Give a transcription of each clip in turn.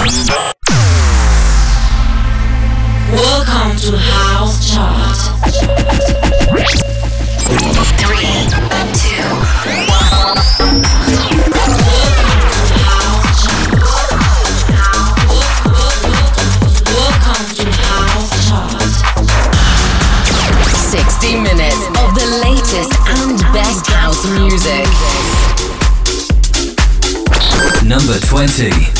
Welcome to House Chart. 3, 2, 1. Welcome to House Chart. 60 minutes of the latest and best house music. Number 20.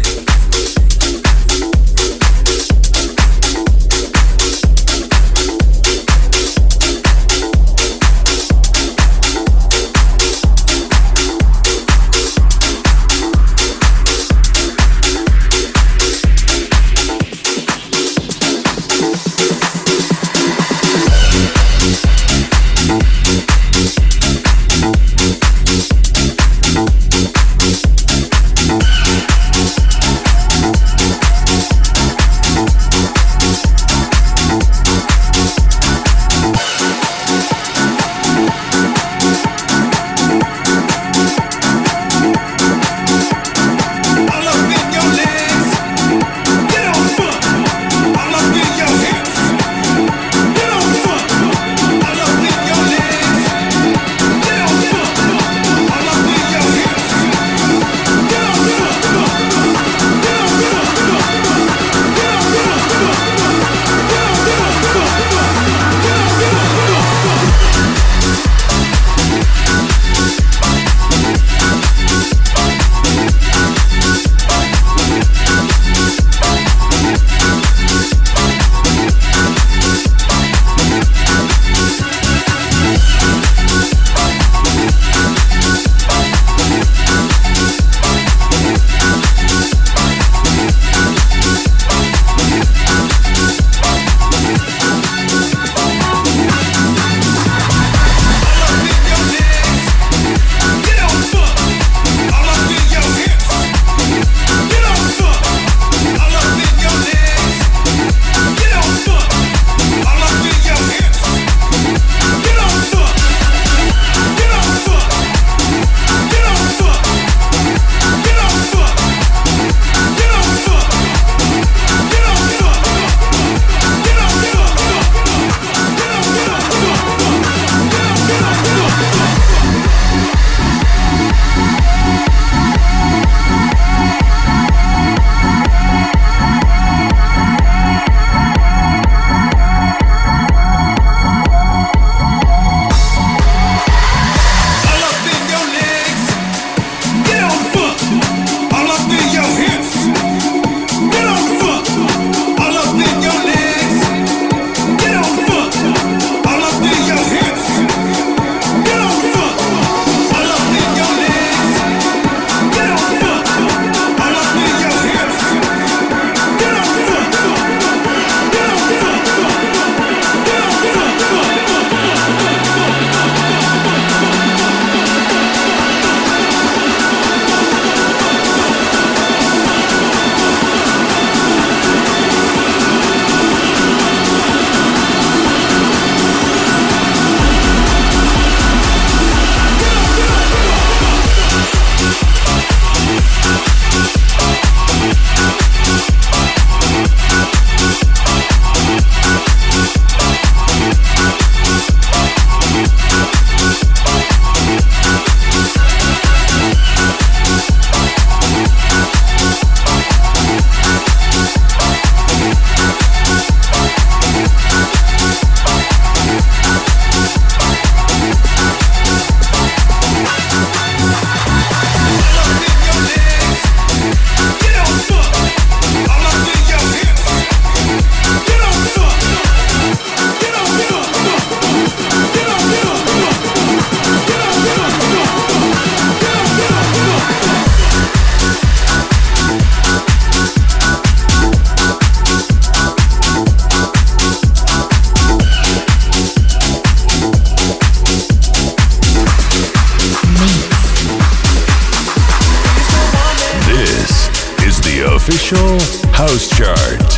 official House Chart.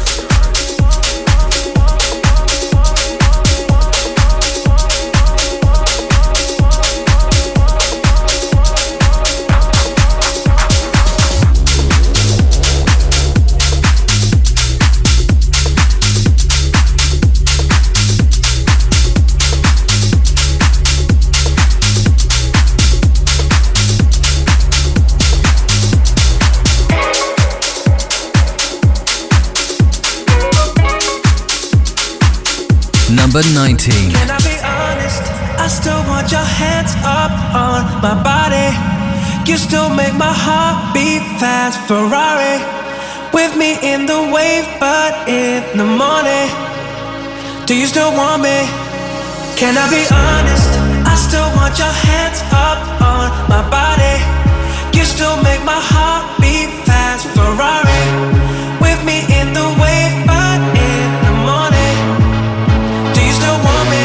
Number 19. Can I be honest? I still want your hands up on my body. You still make my heart beat fast. Ferrari with me in the wave, but in the morning. Do you still want me? Can I be honest? I still want your hands up on my body. You still make my heart beat fast. Ferrari with me in the wave, but in the morning. Do you still want me?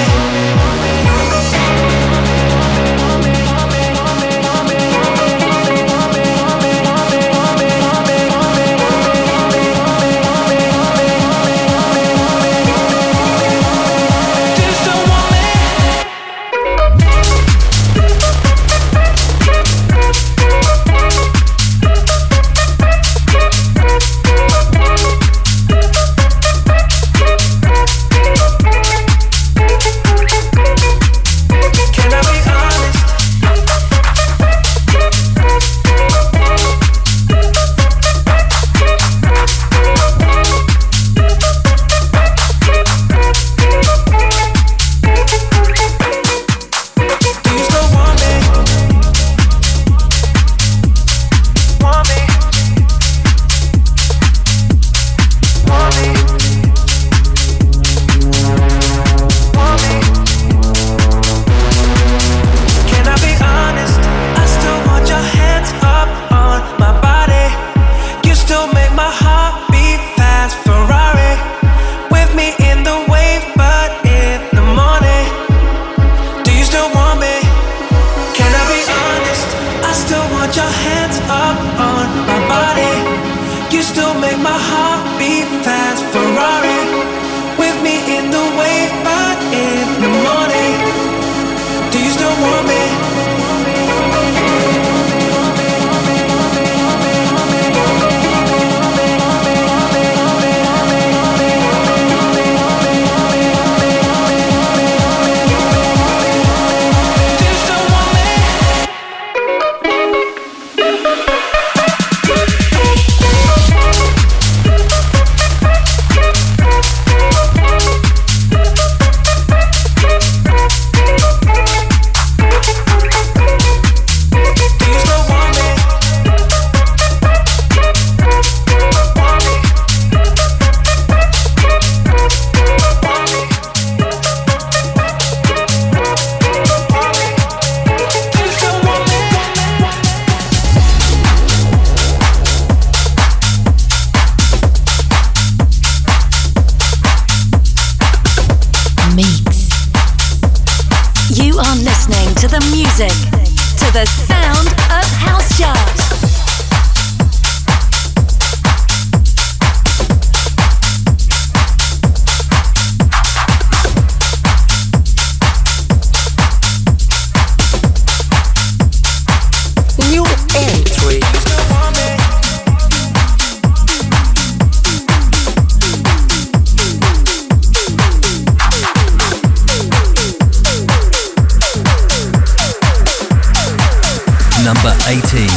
Number 18.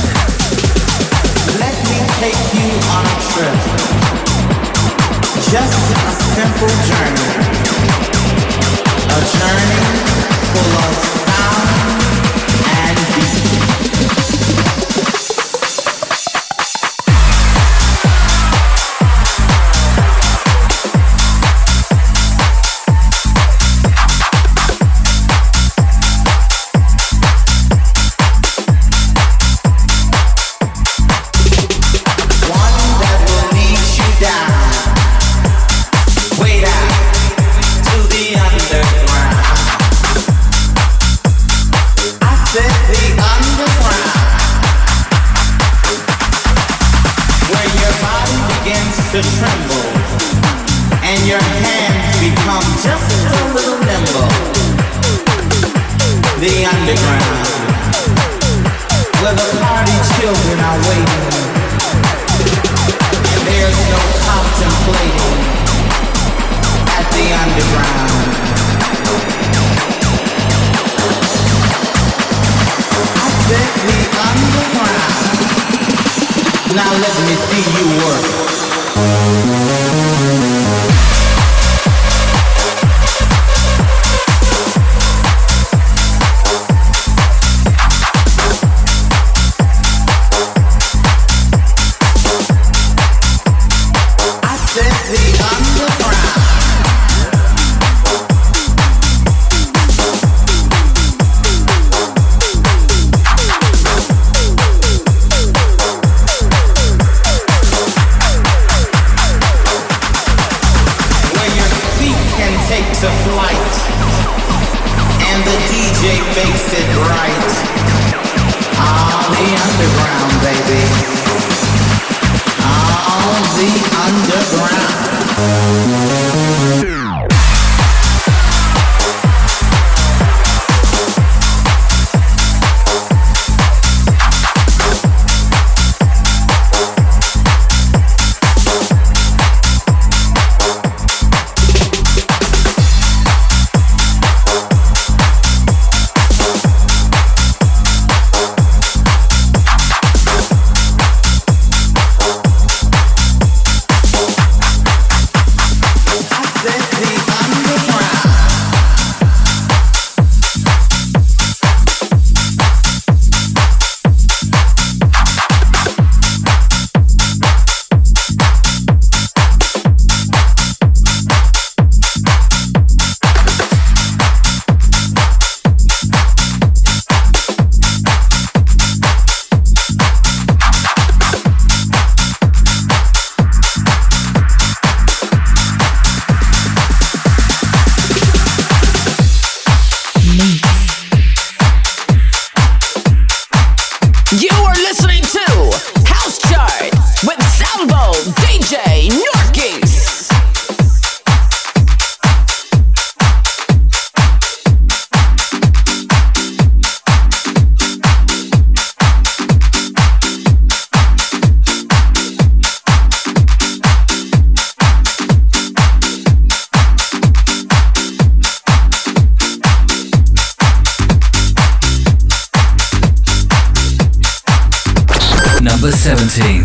Let me take you on a trip. Just a simple journey. A journey full of sound and beat. To tremble, and your hands become just a little nimble. The underground, where the party children are waiting, and there's no contemplating at the underground. I said the underground. Now let me see you work. Number 17.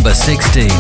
Number 16.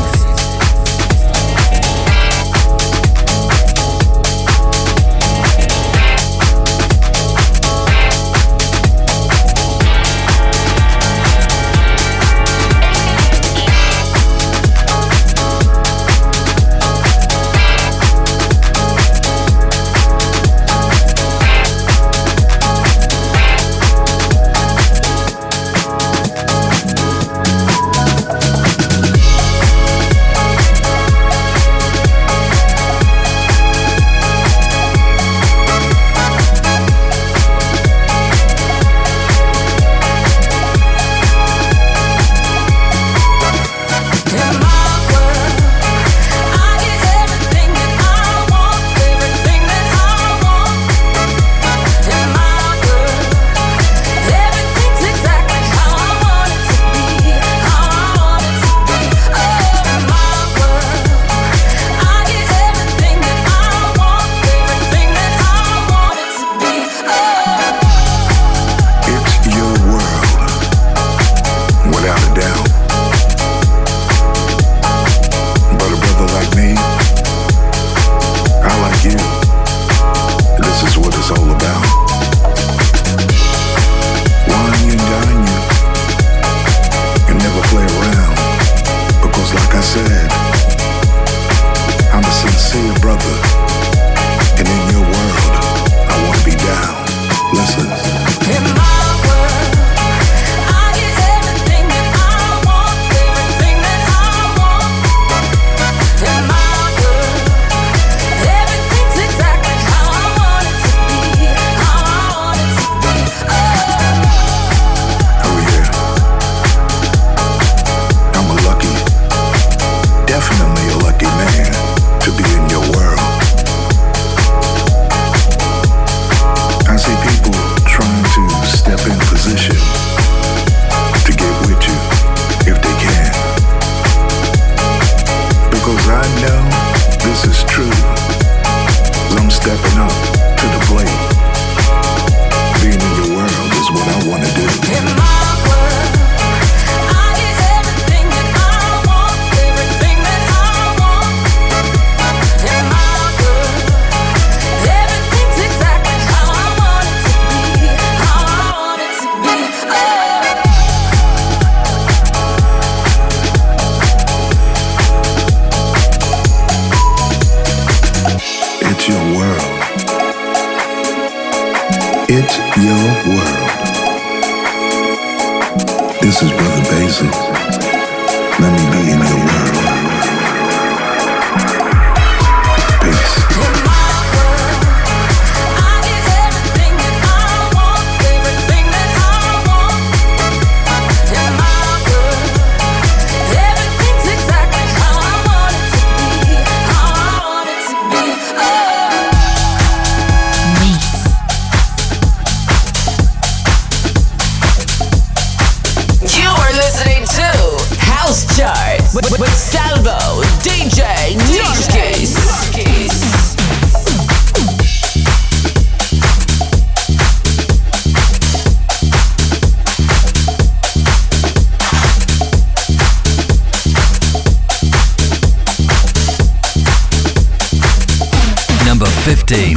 Number 15.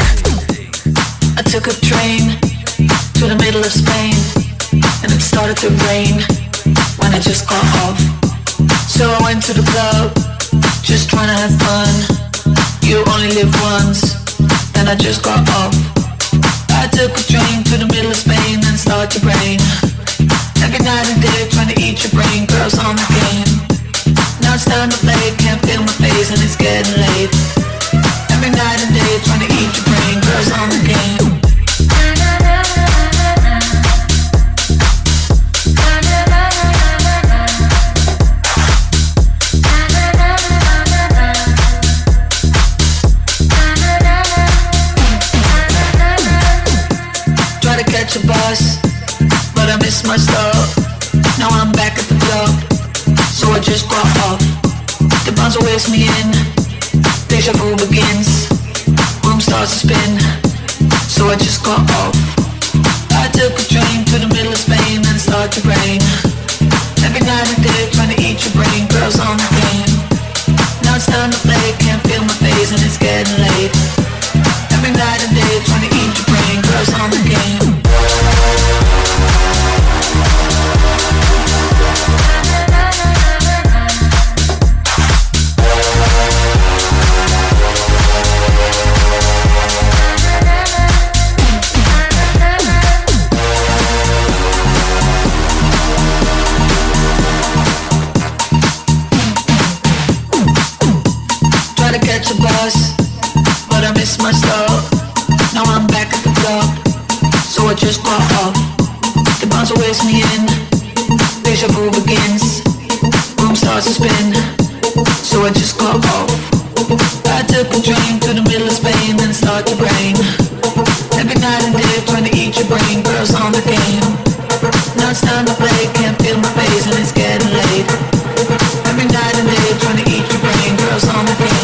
I took a train to the middle of Spain, and it started to rain when I just got off. So I went to the club, just trying to have fun. You only live once, then I just got off. I took a train to the middle of Spain and started to rain. Every night and day trying to eat your brain, girls on the game. Now it's time to play, can't feel my face and it's getting late. Every night and day trying to eat your brain, girls on the game. Try to catch a bus, but I missed my stop. Now I'm back at the club, so I just got off. The bouncer wakes me in, deja vu begins. Room starts to spin, so I just got off. I took a train to the middle of Spain and it started to rain. Every night and day trying to eat your brain, girls on the I just got off. I took a train to the middle of Spain, then it started to rain. Every night and day trying to eat your brain, girls on the game. Now it's time to play, can't feel my face and it's getting late. Every night and day trying to eat your brain, girls on the game.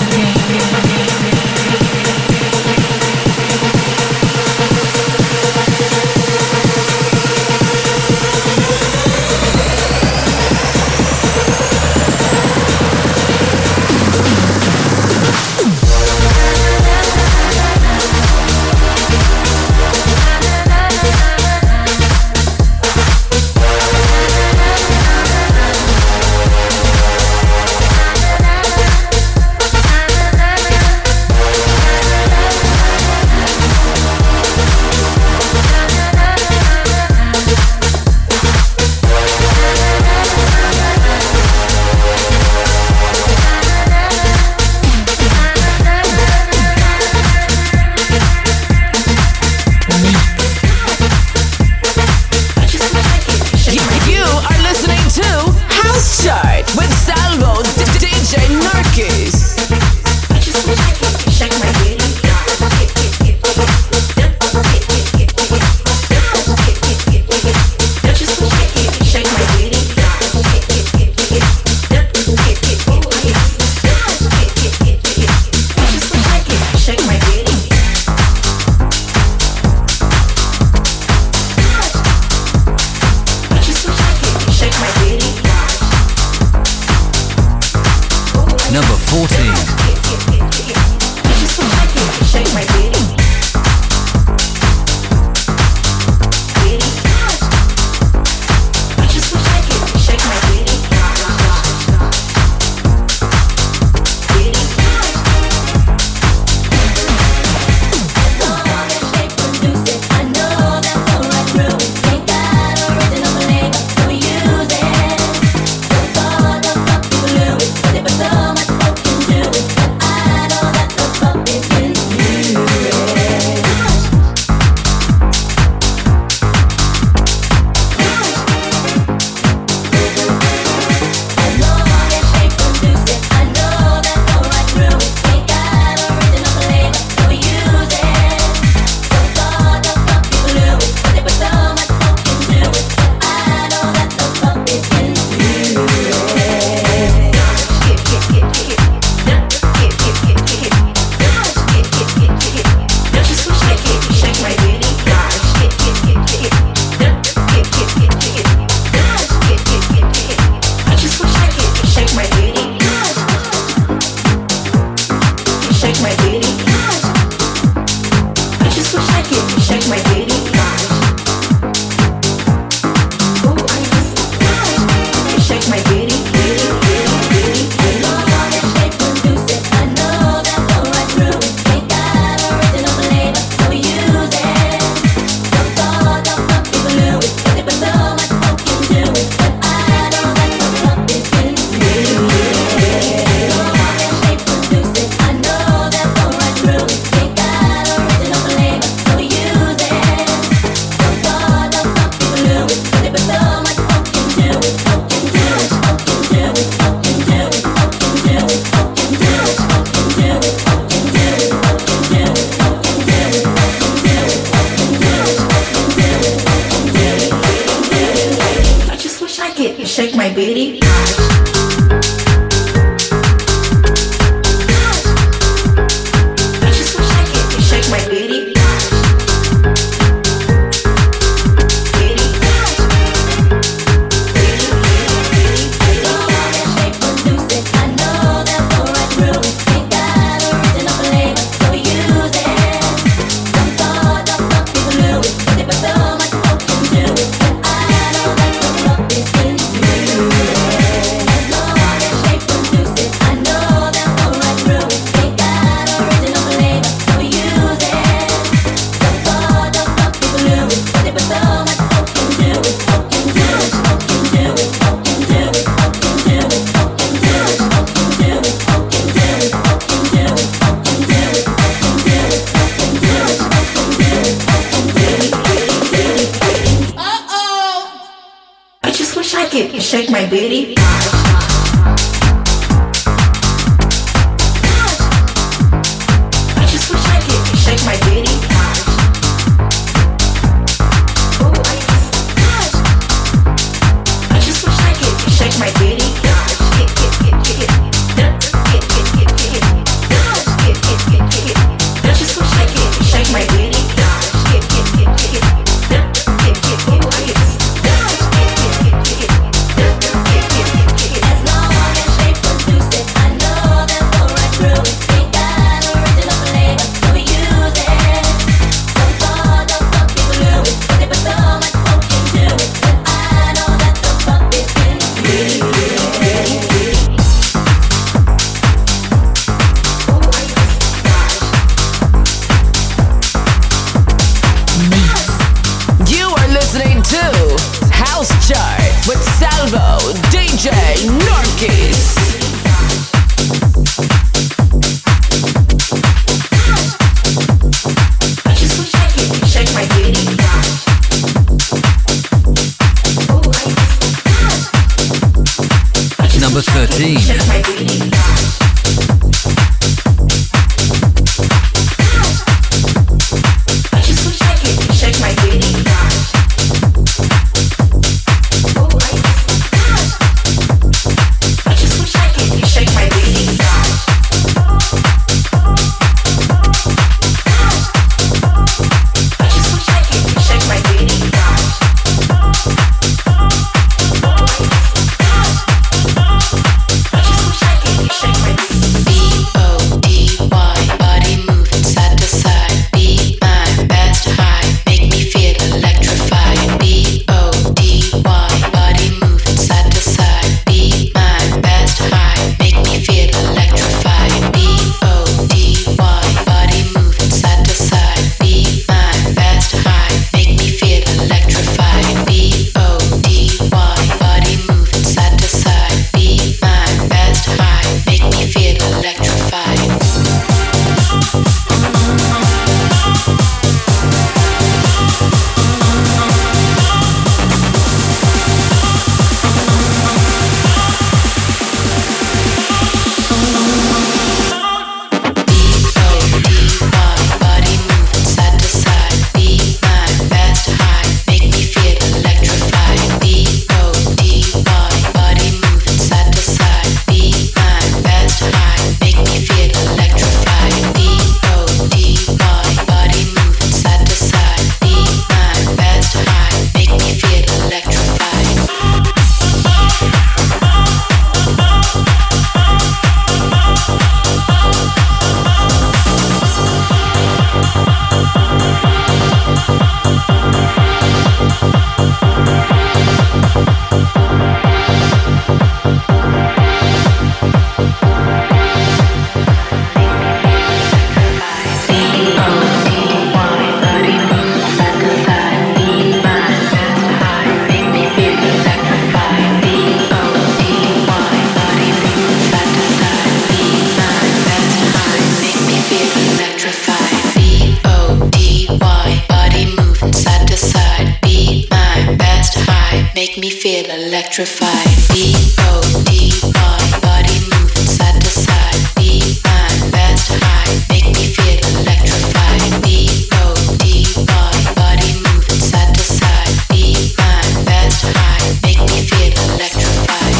Shake my booty. Shake my booty. electrified. B-O-D-Y, body moving side to side. Be my best high, make me feel electrified. B-O-D-Y, body moving side to side. Be my best high, make me feel electrified.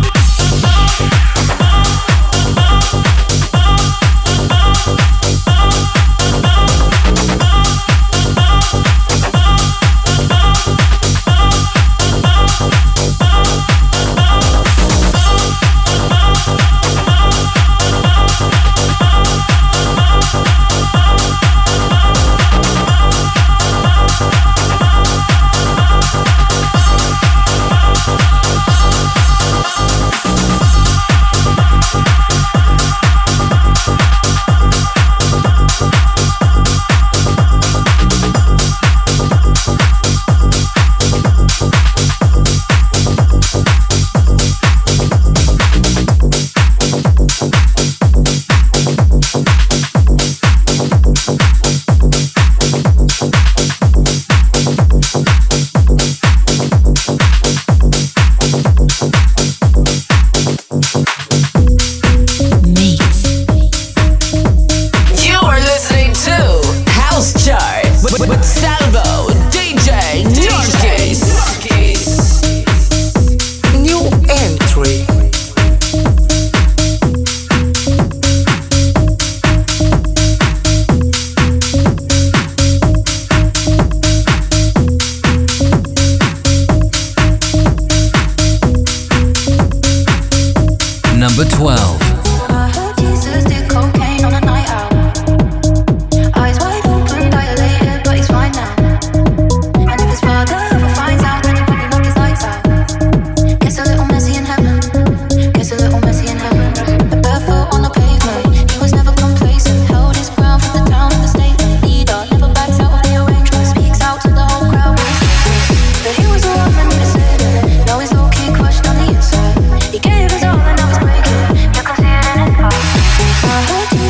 Number 12. I heard you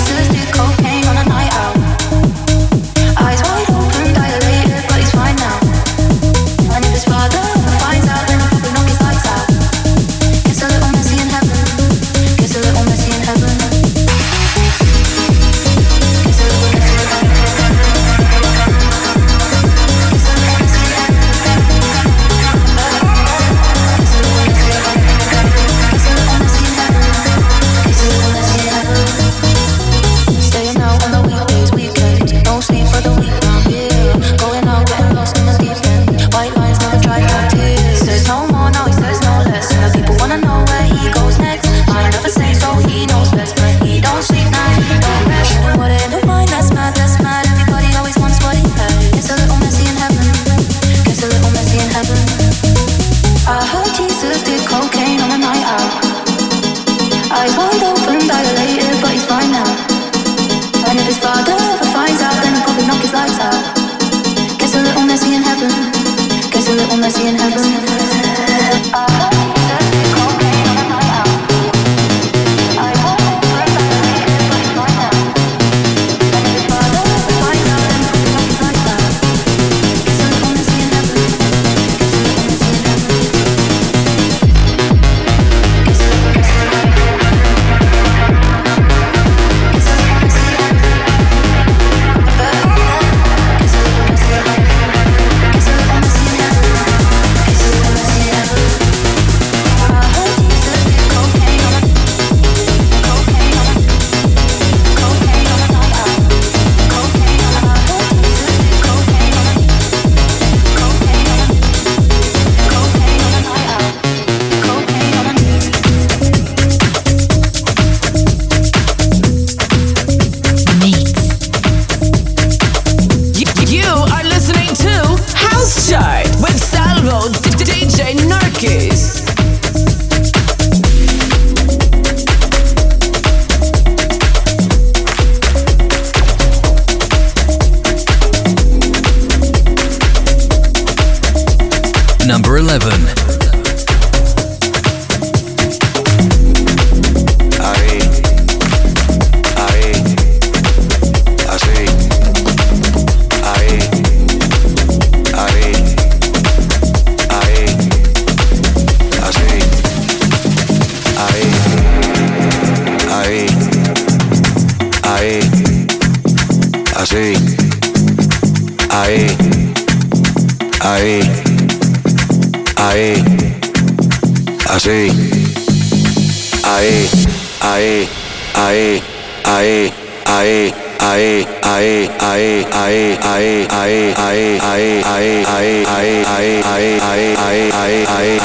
así, ahí, ahí, ahí, así, ahí, ahí, ahí, ahí, ahí. Ahí, ahí, ahí, ahí, ahí, ahí, ahí, ahí, ahí, ahí, ahí, ahí, ahí, ahí, ahí, ahí,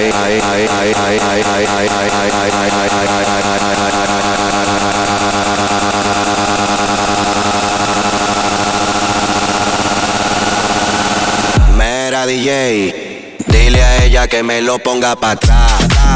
Mira DJ, dile a ella que me lo ponga pa' atrás,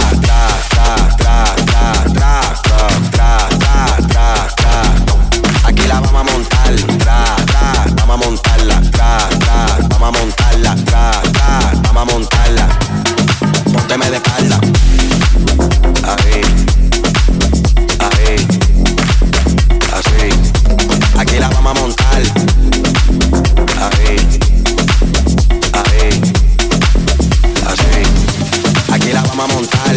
aquí la vamos a montar, vamos a montarla, vamos a montarla, vamos a montarla. Pónteme de espalda. Ahí, ahí, así. Aquí la vamos a montar. Ahí, ahí, así. Aquí la vamos a montar.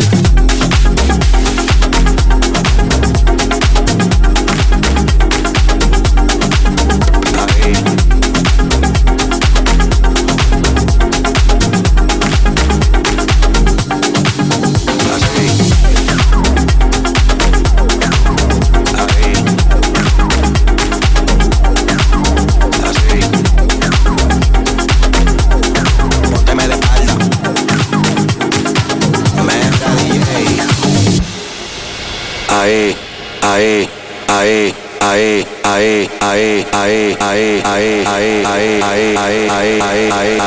Ahí, ahí, ahí, ahí, ahí, ahí, ahí, ahí, ahí, ahí, ahí, ahí, ahí, ahí, ahí,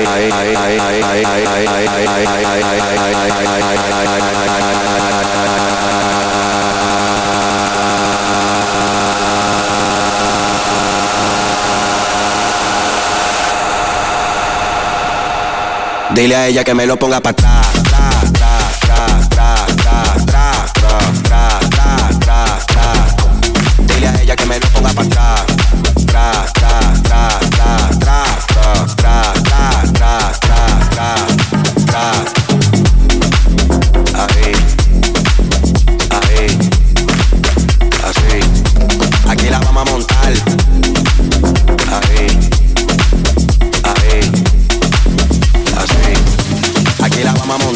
dile a ella que me lo ponga para atrás. Dile a ella que me lo ponga para atrás. Ahí, ahí, así. Aquí la vamos a montar. Ahí, ahí, así. Aquí la vamos a montar.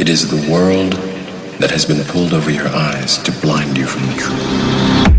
It is the world that has been pulled over your eyes to blind you from the truth.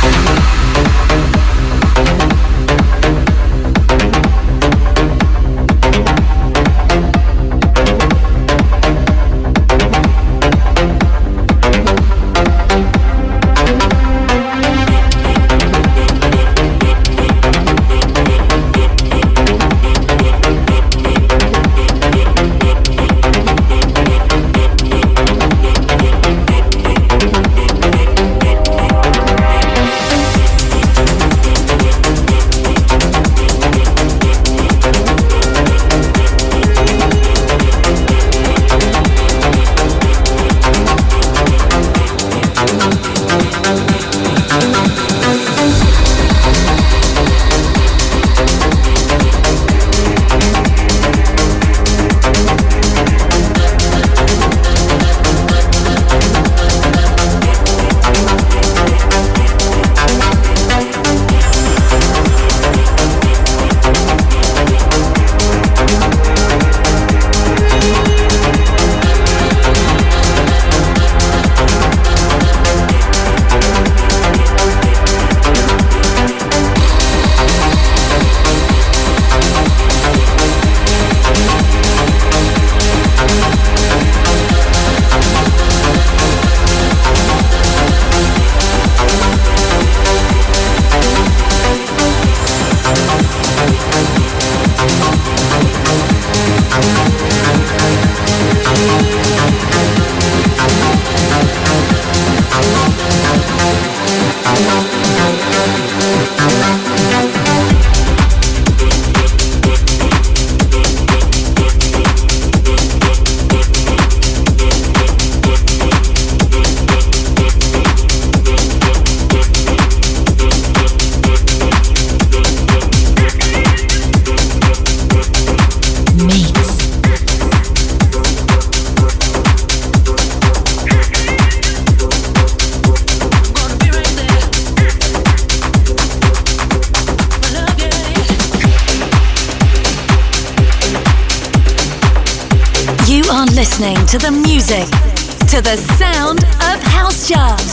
Listening to the music, to the sound of House Chart.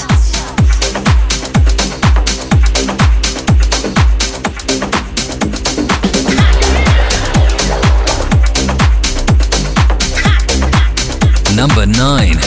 Number 9.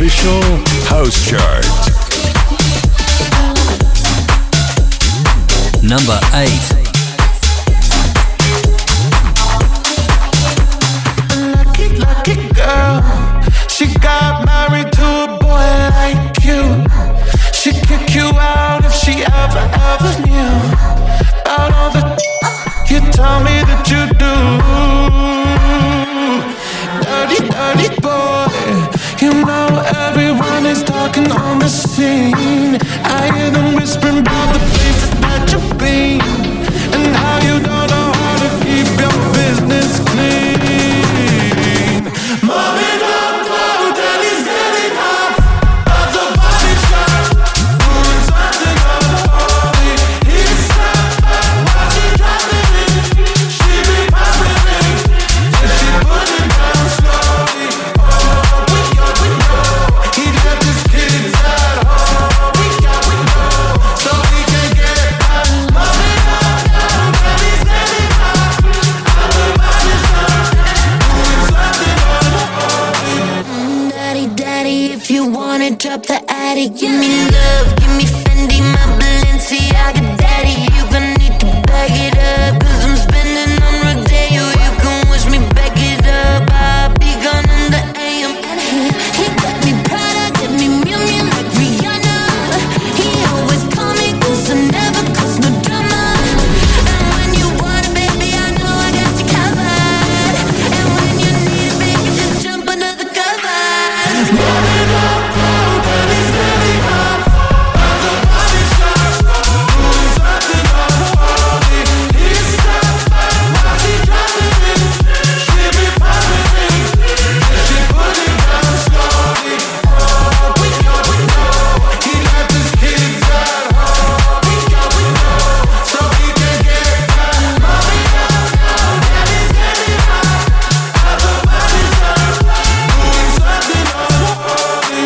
official house chart. Number 8. Lucky girl, she got married to a boy like you. She'd kick you out if she ever knew about all the you tell me that you do. Dirty boy, you know everyone is talking on the scene. I hear them whispering about the places that you've been and how you don't know how to keep your business clean. Mommy don't know that he's getting up of the body shop, doing something unholy. He's something while she dropping it. She be popping it, then she put it down slowly. Oh, we know he left his kids at home. We know so we can get back. Mommy don't know that he's getting up of the body shop, doing something unholy. Daddy, if you wanna drop the attic, give me love, give me Fendi, my Balenciaga. Daddy, you gon' need to bag it up, 'cause I'm spending on Rodeo. You can wish me back it up, I'll be gone in the AM. And he got me Prada, got me Miu Miu like Rihanna. He always call me cause I never cause no drama. And when you want it, baby, I know I got you covered. And when you need it, baby, just jump under the covers. Mommy don't know that he's getting up of the body shop, doing something unholy. He's something while she dropping it. She be popping it, then she put it down slowly. Oh, we know he left his kids at home. We know so we can get back. Mommy don't know that he's getting up of the body shop, doing something unholy.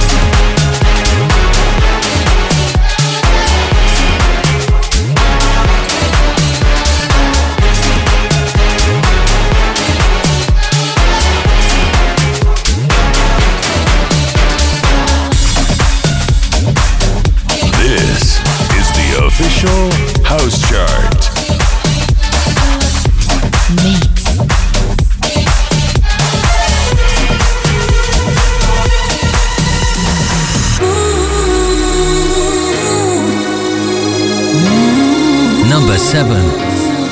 This is the official house chart. Mix. Number 7.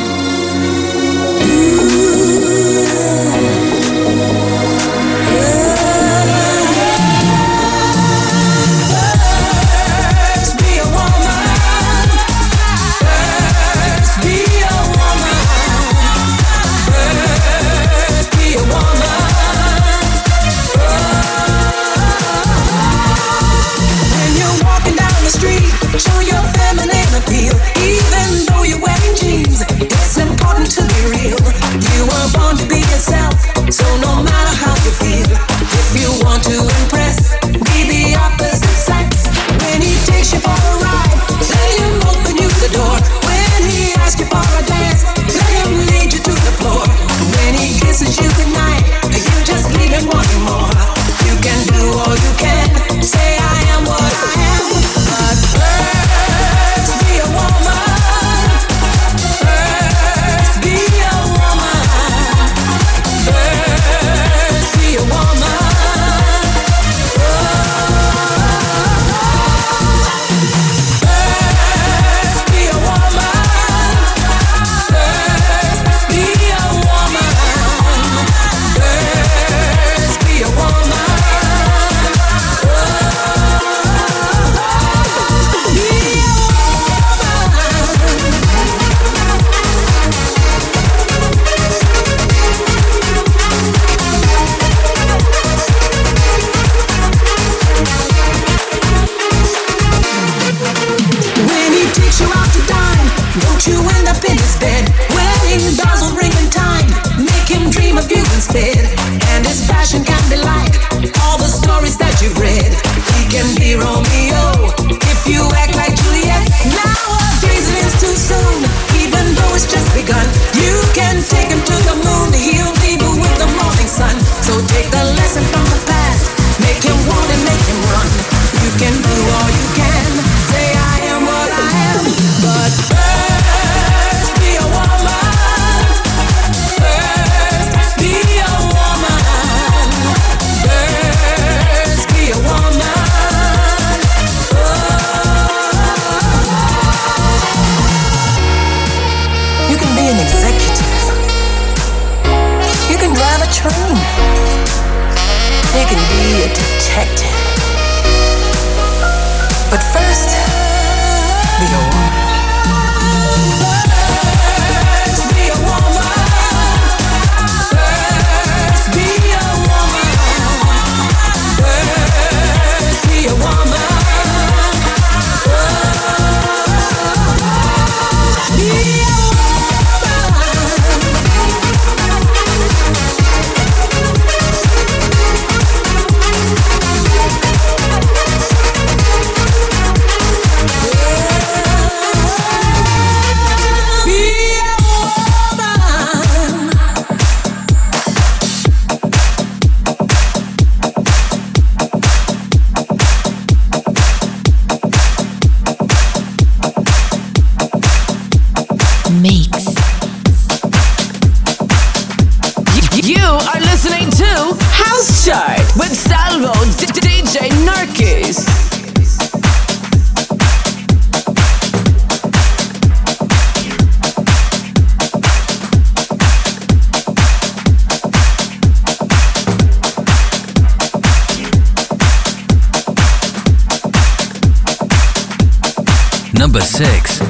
Show your feminine appeal, even though you're wearing jeans. It's important to be real. You were born to be yourself, so no matter how you feel, if you want to impress, be the opposite sex. When he takes you for a ride, let him open you the door. When he asks you for a dance, let him lead you to the floor. When he kisses you goodnight, you just leave him wanting more. You can do all you can, say I am what I am, but first be a woman. First be a woman. First be a woman. train. You can be a detective. But first, be a woman. First, be a woman. First, be a woman. First, be a woman. Chart with Salvo DJ Narkis. Number 6.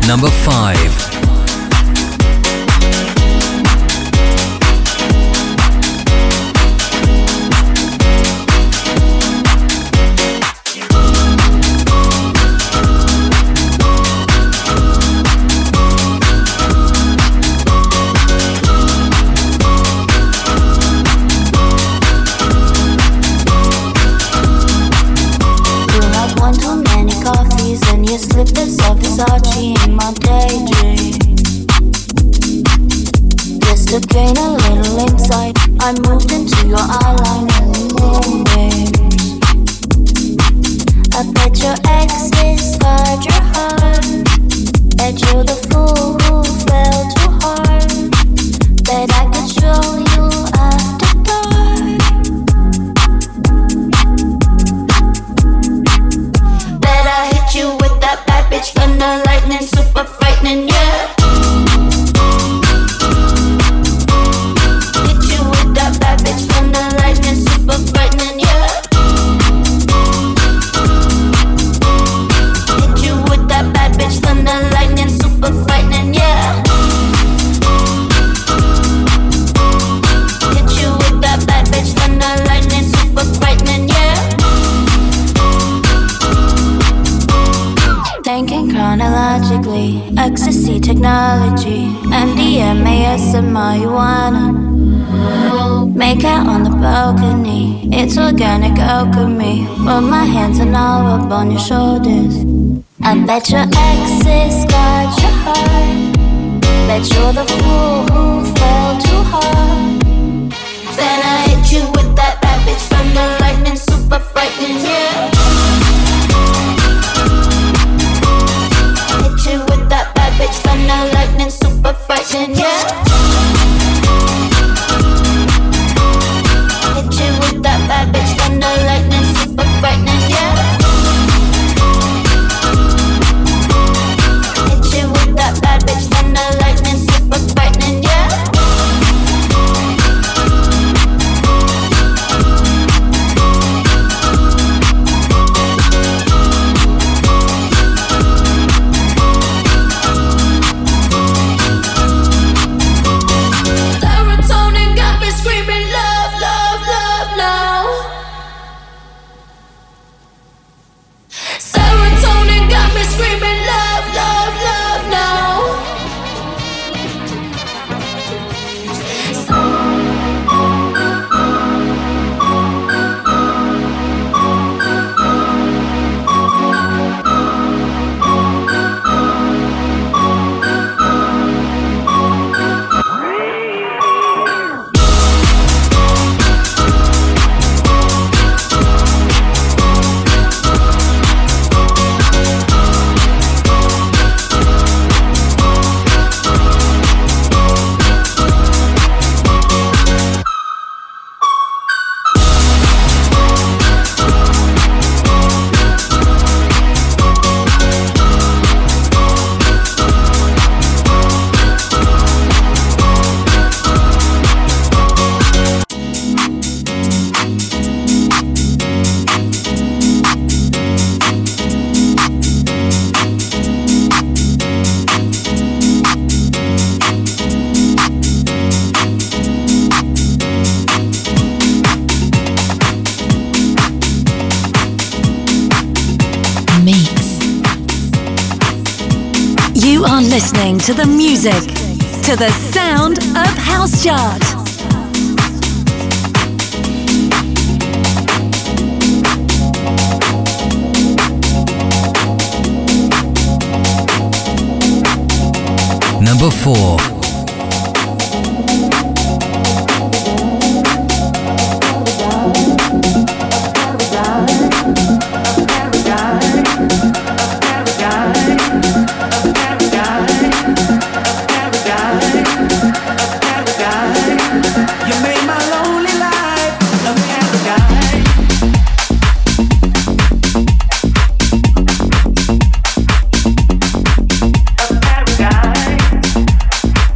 Number 5. Slippers of Versace in my daydream. Just to gain a little insight, I moved into your eyeline and moonbeams. I bet your exes scarred your heart. Bet you're the fool who fell too hard. Bet I could show you after dark. Bet I hit you with that bad bitch thunder lightning, super frightening, yeah. Hit you with that bad bitch thunder lightning, super frightening, yeah. Hit you with that bad bitch thunder lightning, super frightening, yeah. Hit you with that bad bitch thunder lightning, super frightening, yeah. Thinking chronologically, ecstasy technology, MDMA, and marijuana. Make out on the balcony, it's organic alchemy. Put my hands and all up on your shoulders. I bet your exes scarred your heart. Bet you're the fool who fell too hard. Then I hit you with that bad bitch thunder lightning, super frightening, yeah. Hit you with that bad bitch thunder lightning, super frightening, yeah. Hit you with that bad bitch thunder lightning, super frightening, yeah. Hit you with that bad bitch thunder lightning, super frightening, yeah. Serotonin got me screaming love, love, love now. Serotonin got me screaming love, love, love now. You are listening to the music, to the sound of House Chart. Number 4. You made my lonely life a paradise. A paradise.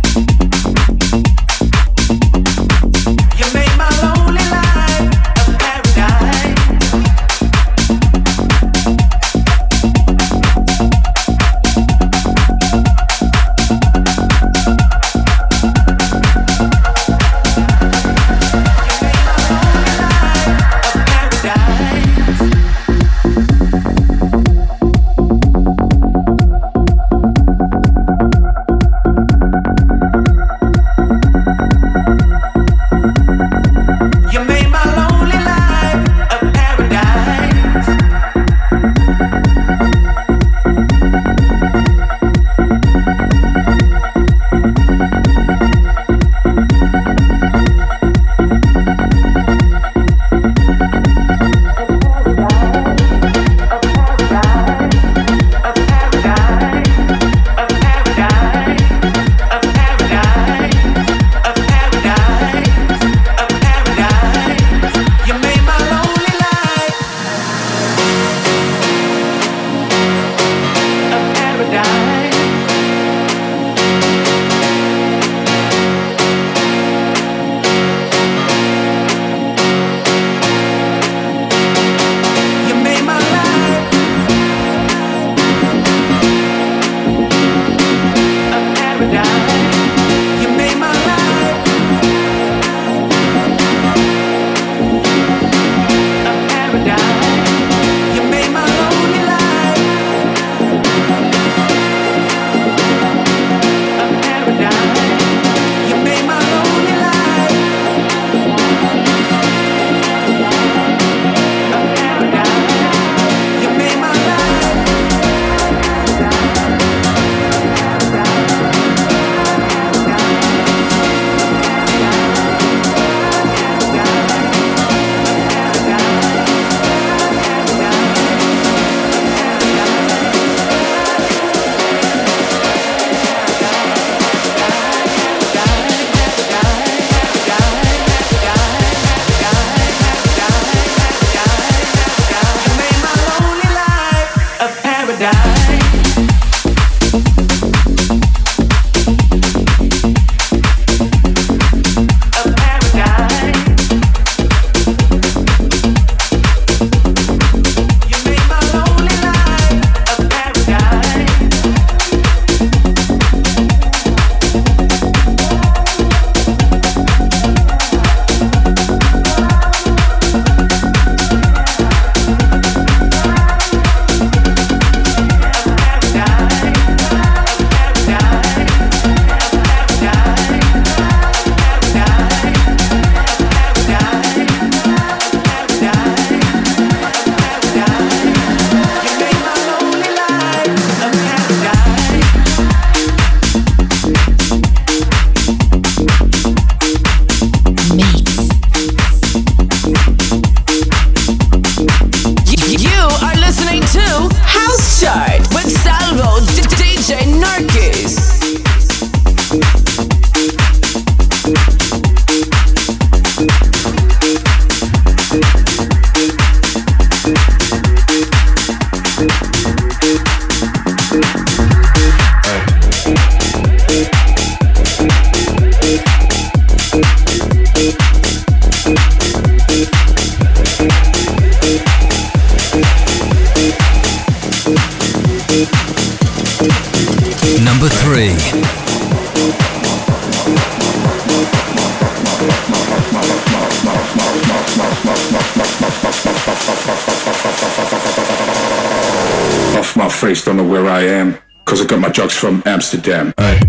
face, don't know where I am, cause I got my drugs from Amsterdam. Aye.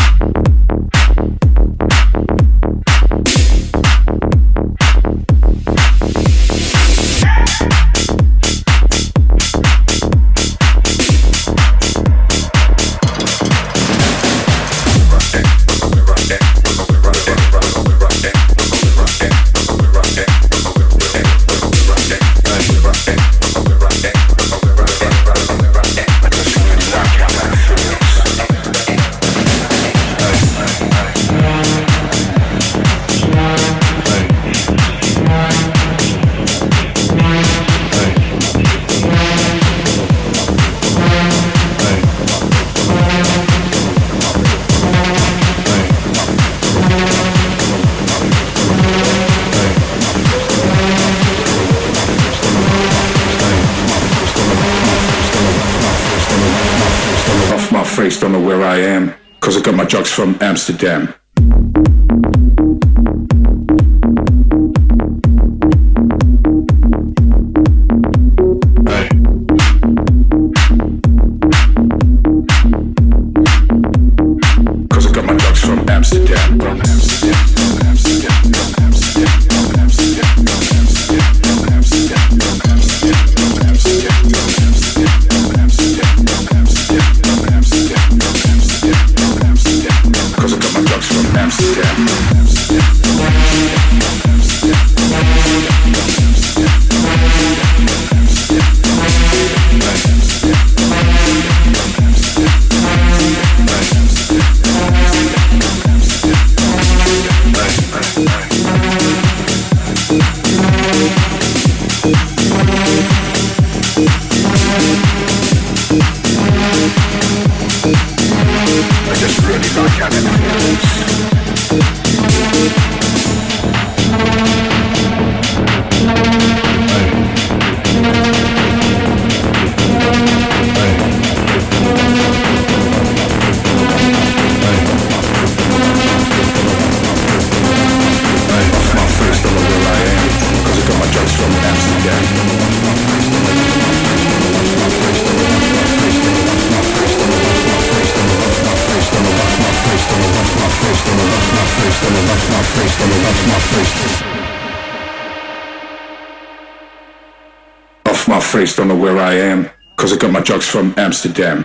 Don't know where I am, cause I got my drugs from Amsterdam. Off my face, don't know where I am, cause I got my drugs from Amsterdam.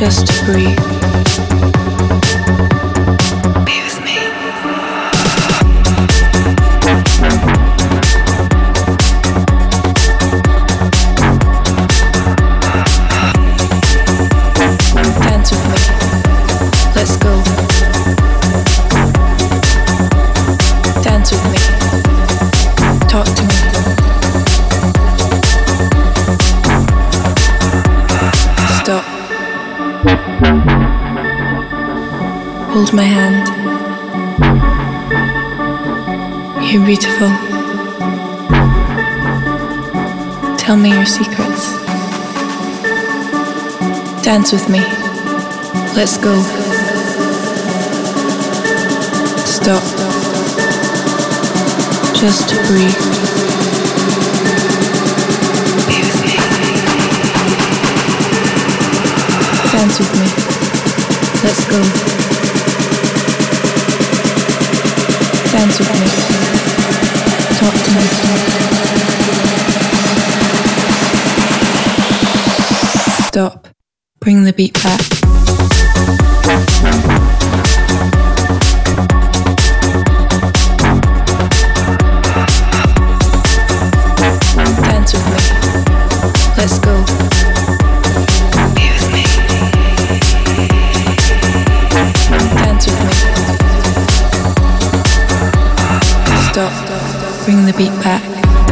just to breathe. Be with me. Dance with me. Let's go. Dance with me. Talk to me. Stop. Hold my hand. You're beautiful. Tell me your secrets. Dance with me. Let's go. Stop. Just to breathe. Be with me. Dance with me. Let's go. Dance with me. Talk to me. Stop. Bring the beat back. Dance with me. Let's go. Be with me. Dance with me. Stop. Bring the beat back.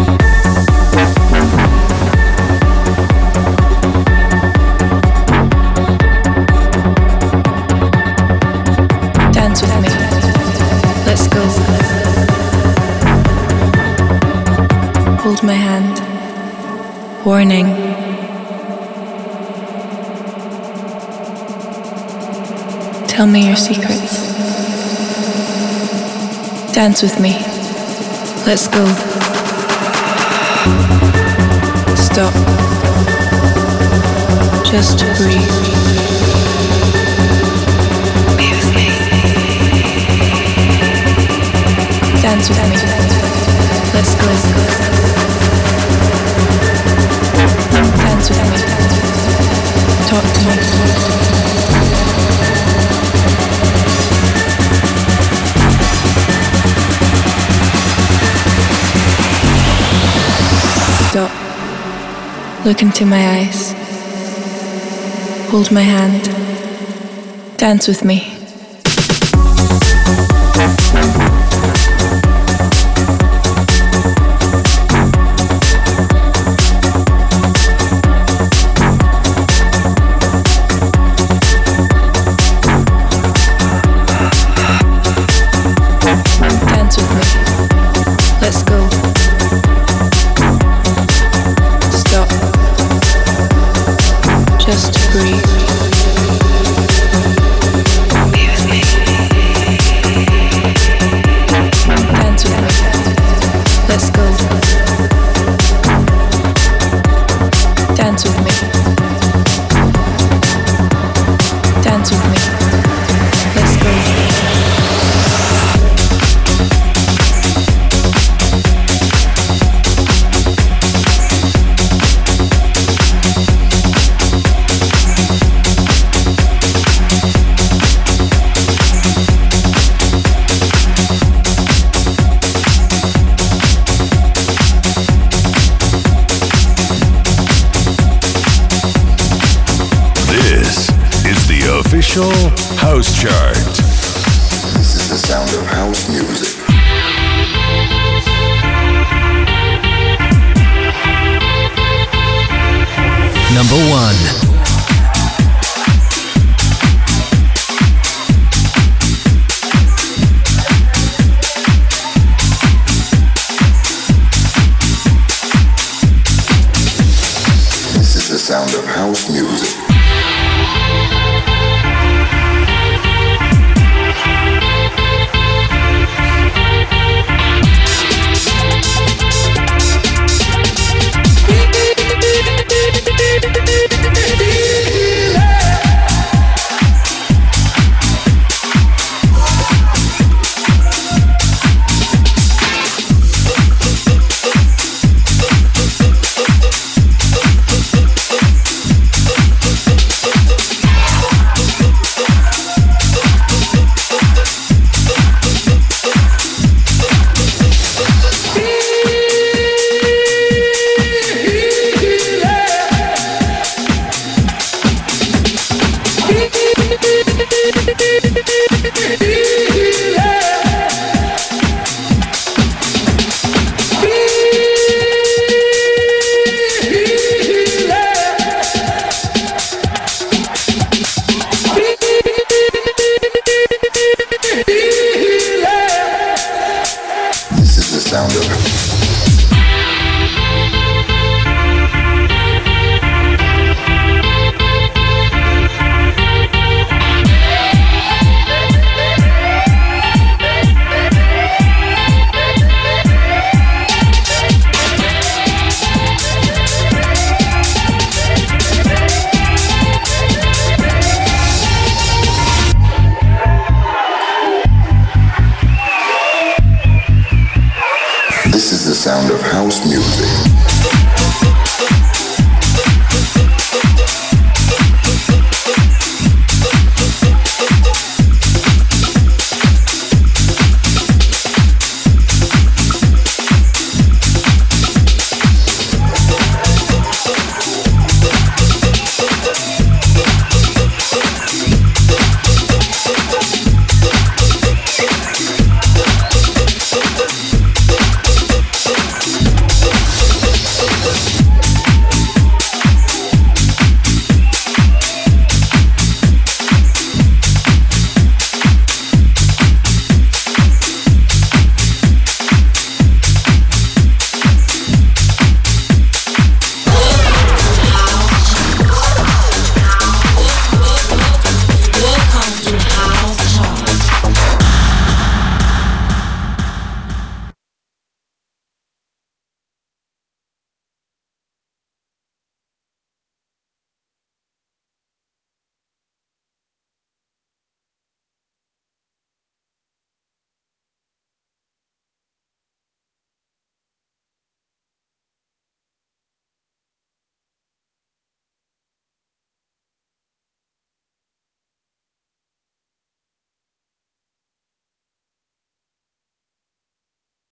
Dance with me. Let's go. Hold my hand. Warning. Tell me your secrets. Dance with me. Let's go. Stop. Just to breathe. Be with me. Dance with me. Let's go. Dance with me. Talk to me. Stop. Look into my eyes. Hold my hand. Dance with me. Dance with me. Let's go. Stop. Just to breathe. Be This is the sound of house music.